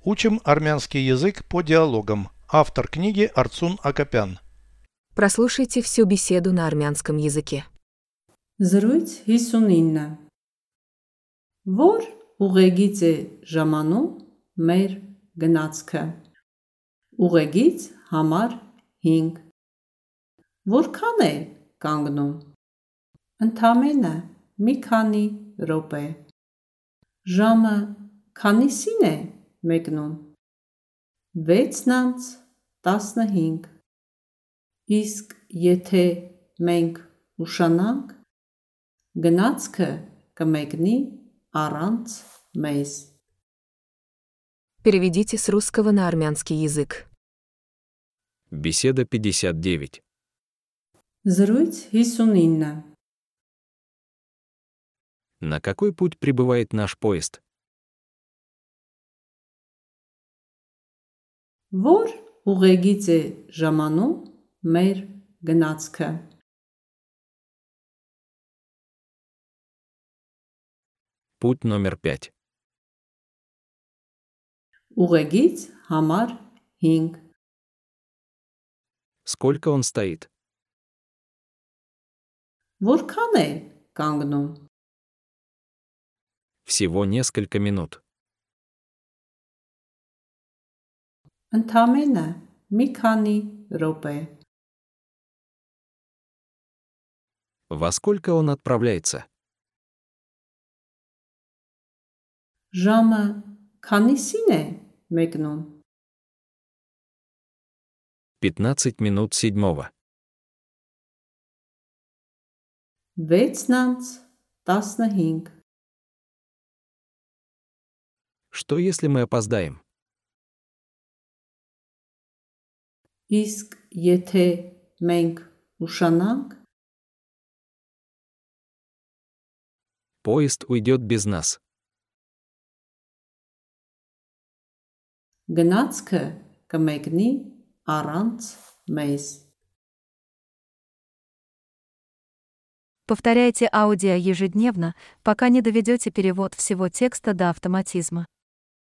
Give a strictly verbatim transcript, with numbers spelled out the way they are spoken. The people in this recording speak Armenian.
Учим армянский язык по диалогам. Автор книги Арцун Акопян. Прослушайте всю беседу на армянском языке. Զրույց հիսունինը Որ ուղեգիծ է ժամանում մեր գնացքը Ուղեգիծ համար հինգ Որքան է կանգնում Ընդամենը մի քանի րոպե Ժամը քանիսին է մեկնում վեցն անց տասնհինգ Իսկ եթե մենք ուշանանք Գնացքը կմեկնի առանց մեզ Переведите с русского на армянский язык. Беседа пятьдесят девять. Զրույց հիսունինը На какой путь прибывает наш поезд? Որ ուղեգիծ է ժամանում մեր գնացքը Путь номер пять. Ուղեգիծ համար հինգ Сколько он стоит? Որքան է կանգնում Всего несколько минут. Ընդամենը մի քանի րոպե Во сколько он отправляется? Ժամը քանիսին է մեկնում пятнадцать минут седьмого. վեցն անց տասնհինգ Что если мы опоздаем? Իսկ եթե մենք ուշանանք Поезд уйдет без нас. Գնացքը կմեկնի առանց մեզ Повторяйте аудио ежедневно, пока не доведете перевод всего текста до автоматизма.